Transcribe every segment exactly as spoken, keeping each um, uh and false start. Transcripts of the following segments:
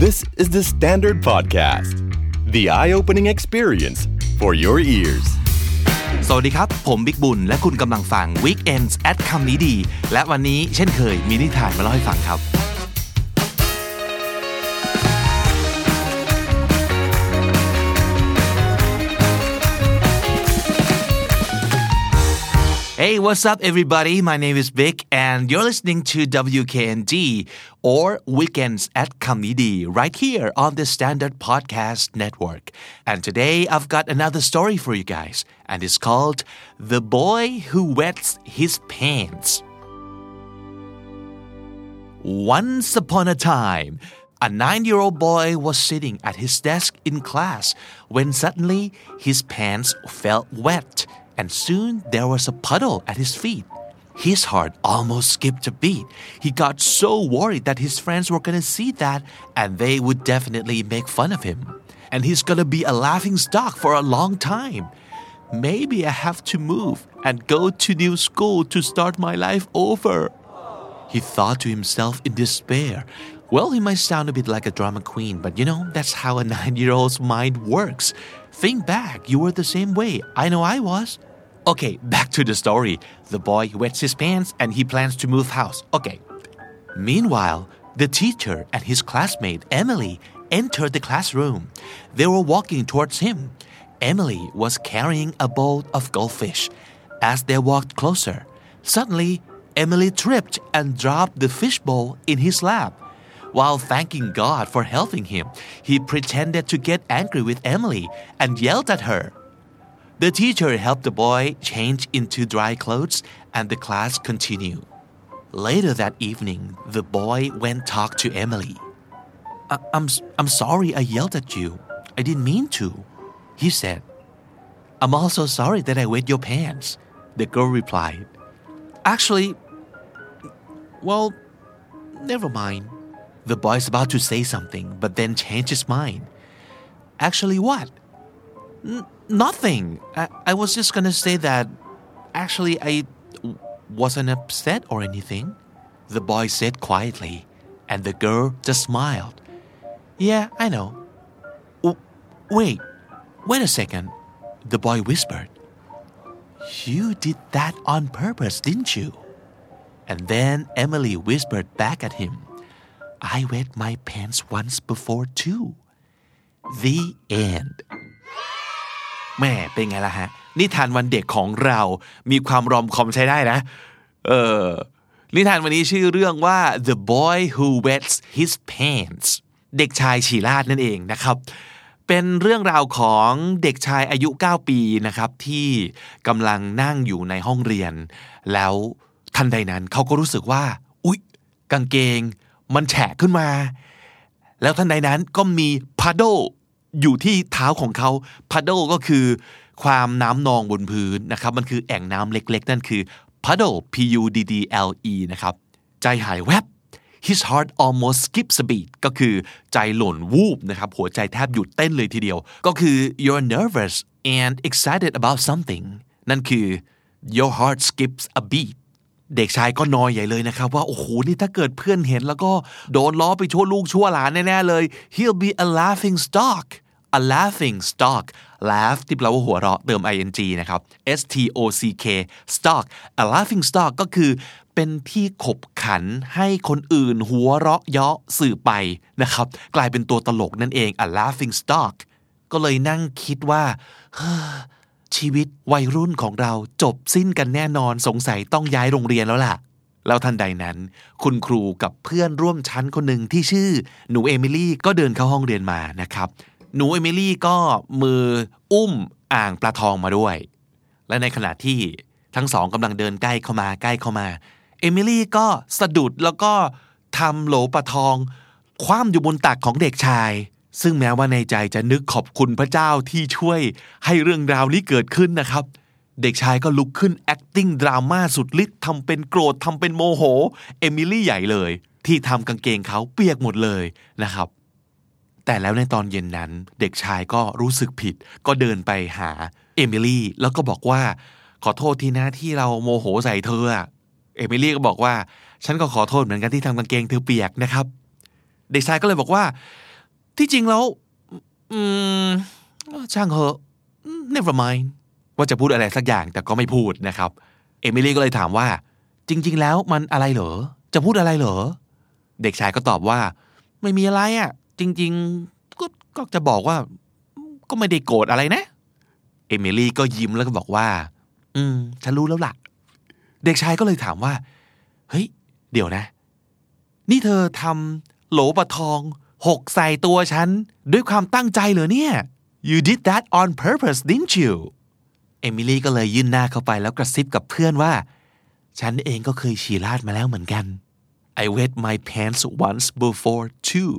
This is the Standard Podcast, the eye-opening experience for your ears. สวัสดีครับผมบิ๊กบุญและคุณกำลังฟัง Weekends at คำนี้ดีและวันนี้เช่นเคยมีนิทานมาเล่าให้ฟังครับHey, what's up, everybody? My name is Vic, and you're listening to W K N D, or Weekends at Kamidi, right here on the Standard Podcast Network. And today, I've got another story for you guys, and it's called The Boy Who Wets His Pants. Once upon a time, a nine-year-old boy was sitting at his desk in class when suddenly his pants felt wet.And soon there was a puddle at his feet. His heart almost skipped a beat. He got so worried that his friends were going to see that and they would definitely make fun of him. And he's going to be a laughing stock for a long time. Maybe I have to move and go to new school to start my life over. He thought to himself in despair.Well, he might sound a bit like a drama queen, but you know, that's how a nine-year-old's mind works. Think back, you were the same way. I know I was. Okay, back to the story. The boy wets his pants and he plans to move house. Okay. Meanwhile, the teacher and his classmate, Emily, entered the classroom. They were walking towards him. Emily was carrying a bowl of goldfish. As they walked closer, suddenly, Emily tripped and dropped the fish bowl in his lap.While thanking God for helping him, he pretended to get angry with Emily and yelled at her. The teacher helped the boy change into dry clothes and the class continued. Later that evening, the boy went to talk to Emily. I- I'm, I'm sorry I yelled at you. I didn't mean to, he said. I'm also sorry that I wet your pants, the girl replied. Actually, well, never mind.The boy's about to say something, but then changed his mind. Actually, what? N- nothing. I-, I was just gonna say that actually I w- wasn't upset or anything, the boy said quietly, and the girl just smiled. Yeah, I know. W- wait, wait a second, the boy whispered. You did that on purpose, didn't you? And then Emily whispered back at him.I wet my pants once before too. The end. แม่เป็นไงล่ะฮะนิทานวันเด็กของเรามีความรอมคอมใช้ได้นะเออนิทานวันนี้ชื่อเรื่องว่า The Boy Who Wets His Pants เด็กชายฉี่ราดนั่นเองนะครับเป็นเรื่องราวของเด็กชายอายุเก้าปีนะครับที่กำลังนั่งอยู่ในห้องเรียนแล้วทันใดนั้นเขาก็รู้สึกว่าอุ๊ยกางเกงมันแฉะขึ้นมาแล้วทันใดนั้นก็มี puddle อยู่ที่เท้าของเขา puddle ก็คือความน้ำนองบนพื้นนะครับมันคือแอ่งน้ำเล็กๆนั่นคือ puddle P U D D L E นะครับใจหายแวบ his heart almost skips a beat ก็คือใจหล่นวูบนะครับหัวใจแทบหยุดเต้นเลยทีเดียวก็คือ you're nervous and excited about something นั่นคือ your heart skips a beatเด็กชายก็นอยใหญ่เลยนะครับว่าโอ้โหนี่ถ้าเกิดเพื่อนเห็นแล้วก็โดนล้อไปชั่วลูกชั่วหลานแน่ๆเลย he'll be a laughing stock a laughing stock laugh ที่แปลว่าหัวเราะเติม ing นะครับ S T O C K stock a laughing stock ก็คือเป็นที่ขบขันให้คนอื่นหัวเราะเยาะสื่อไปนะครับกลายเป็นตัวตลกนั่นเอง a laughing stock ก็เลยนั่งคิดว่าชีวิตวัยรุ่นของเราจบสิ้นกันแน่นอนสงสัยต้องย้ายโรงเรียนแล้วล่ะแล้วทันใดนั้นคุณครูกับเพื่อนร่วมชั้นคนหนึ่งที่ชื่อหนูเอมิลี่ก็เดินเข้าห้องเรียนมานะครับหนูเอมิลี่ก็มืออุ้มอ่างปลาทองมาด้วยและในขณะที่ทั้งสองกำลังเดินใกล้เข้ามาใกล้เข้ามาเอมิลี่ก็สะดุดแล้วก็ทำโหลปลาทองคว่ำอยู่บนตักของเด็กชายซึ่งแม้ว่าในใจจะนึกขอบคุณพระเจ้าที่ช่วยให้เรื่องราวนี้เกิดขึ้นนะครับเด็กชายก็ลุกขึ้น acting ดราม่าสุดฤทธิ์ทำเป็นโกรธทำเป็นโมโหเอมิลี่ใหญ่เลยที่ทำกางเกงเขาเปียกหมดเลยนะครับแต่แล้วในตอนเย็นนั้นเด็กชายก็รู้สึกผิดก็เดินไปหาเอมิลี่แล้วก็บอกว่าขอโทษทีนะที่เราโมโหใส่เธอเอมิลี่ก็บอกว่าฉันก็ขอโทษเหมือนกันที่ทำกางเกงเธอเปียกนะครับเด็กชายก็เลยบอกว่าที่จริงแล้วอืมช่างเหอะ never mind ว่าจะพูดอะไรสักอย่างแต่ก็ไม่พูดนะครับเอมิลี่ก็เลยถามว่าจริงๆแล้วมันอะไรเหรอจะพูดอะไรเหรอเด็กชายก็ตอบว่าไม่มีอะไรอ่ะจริงๆก็ก็จะบอกว่าก็ไม่ได้โกรธอะไรนะเอมิลี่ก็ยิ้มแล้วก็บอกว่าอืมฉันรู้แล้วล่ะเด็กชายก็เลยถามว่าเฮ้ยเดี๋ยวนะนี่เธอทำโหลปลาทองหกใส่ตัวฉันด้วยความตั้งใจเหรอเนี่ย You did that on purpose didn't you เอมิลี่ก็เลยยื่นหน้าเข้าไปแล้วกระซิบกับเพื่อนว่าฉันเองก็เคยฉี่ราดมาแล้วเหมือนกัน I wet my pants once before too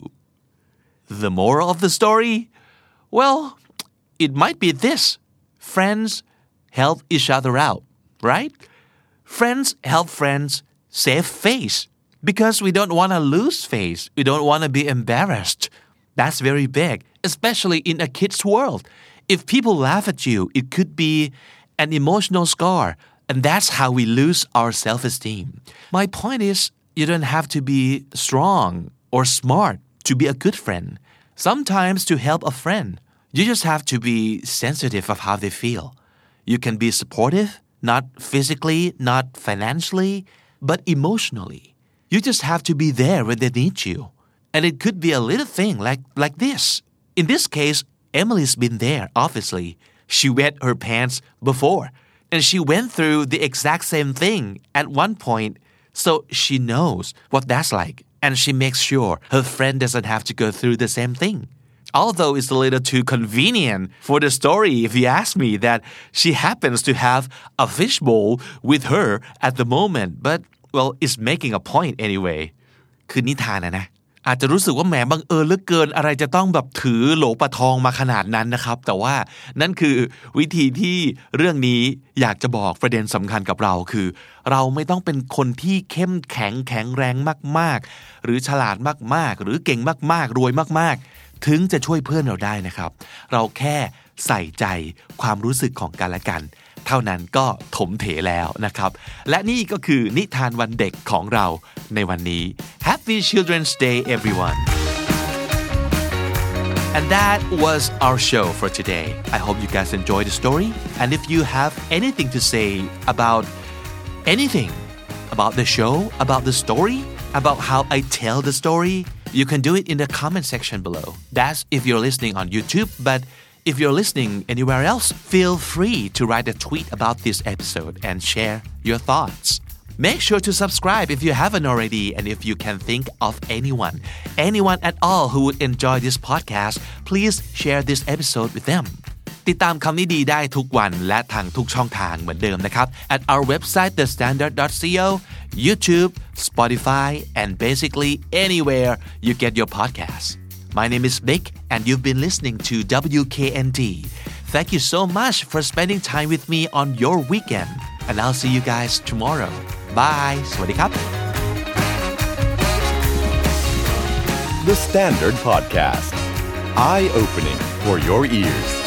The moral of the story well it might be this friends help each other out right friends help friends save face because we don't want to lose face we don't want to be embarrassed that's very big especially in a kid's world if people laugh at you it could be an emotional scar and that's how we lose our self-esteem my point is you don't have to be strong or smart to be a good friend sometimes to help a friend you just have to be sensitive of how they feel you can be supportive not physically not financially but emotionally you just have to be there when they need you and it could be a little thing like like this in this case Emily's been there obviously she wet her pants before and she went through the exact same thing at one point so she knows what that's like and she makes sure her friend doesn't have to go through the same thing although it's a little too convenient for the story if you ask me that she happens to have a fishbowl with her at the moment but well it's making a point anyway คือนิทานนะนะอาจจะรู้สึกว่าแหมบังเอิญเหลือเกินอะไรจะต้องแบบถือโหลปลาทองมาขนาดนั้นนะครับแต่ว่านั่นคือวิธีที่เรื่องนี้อยากจะบอกประเด็นสำคัญกับเราคือเราไม่ต้องเป็นคนที่เข้มแข็งแข็งแรงมากๆหรือฉลาดมากๆหรือเก่งมากๆรวยมากๆถึงจะช่วยเพื่อนเราได้นะครับเราแค่ใส่ใจความรู้สึกของกันและกันเท่านั้นก็ถมเถแล้วนะครับและนี่ก็คือนิทานวันเด็กของเราในวันนี้ Happy Children's Day everyone And that was our show for today I hope you guys enjoyed the story and if you have anything to say about anything about the show about the story about how I tell the story you can do it in the comment section below that's if you're listening on YouTube but If you're listening anywhere else, feel free to write a tweet about this episode and share your thoughts. Make sure to subscribe if you haven't already and if you can think of anyone, anyone at all who would enjoy this podcast, please share this episode with them. ติดตามคำนี้ดีได้ทุกวันและทางทุกช่องทางเหมือนเดิมนะครับ at our website the standard dot co, YouTube, Spotify, and basically anywhere you get your podcasts.My name is Nick and you've been listening to W K N T. Thank you so much for spending time with me on your weekend. And I'll see you guys tomorrow. Bye. สวัสดีครับ The Standard Podcast. Eye-opening for your ears.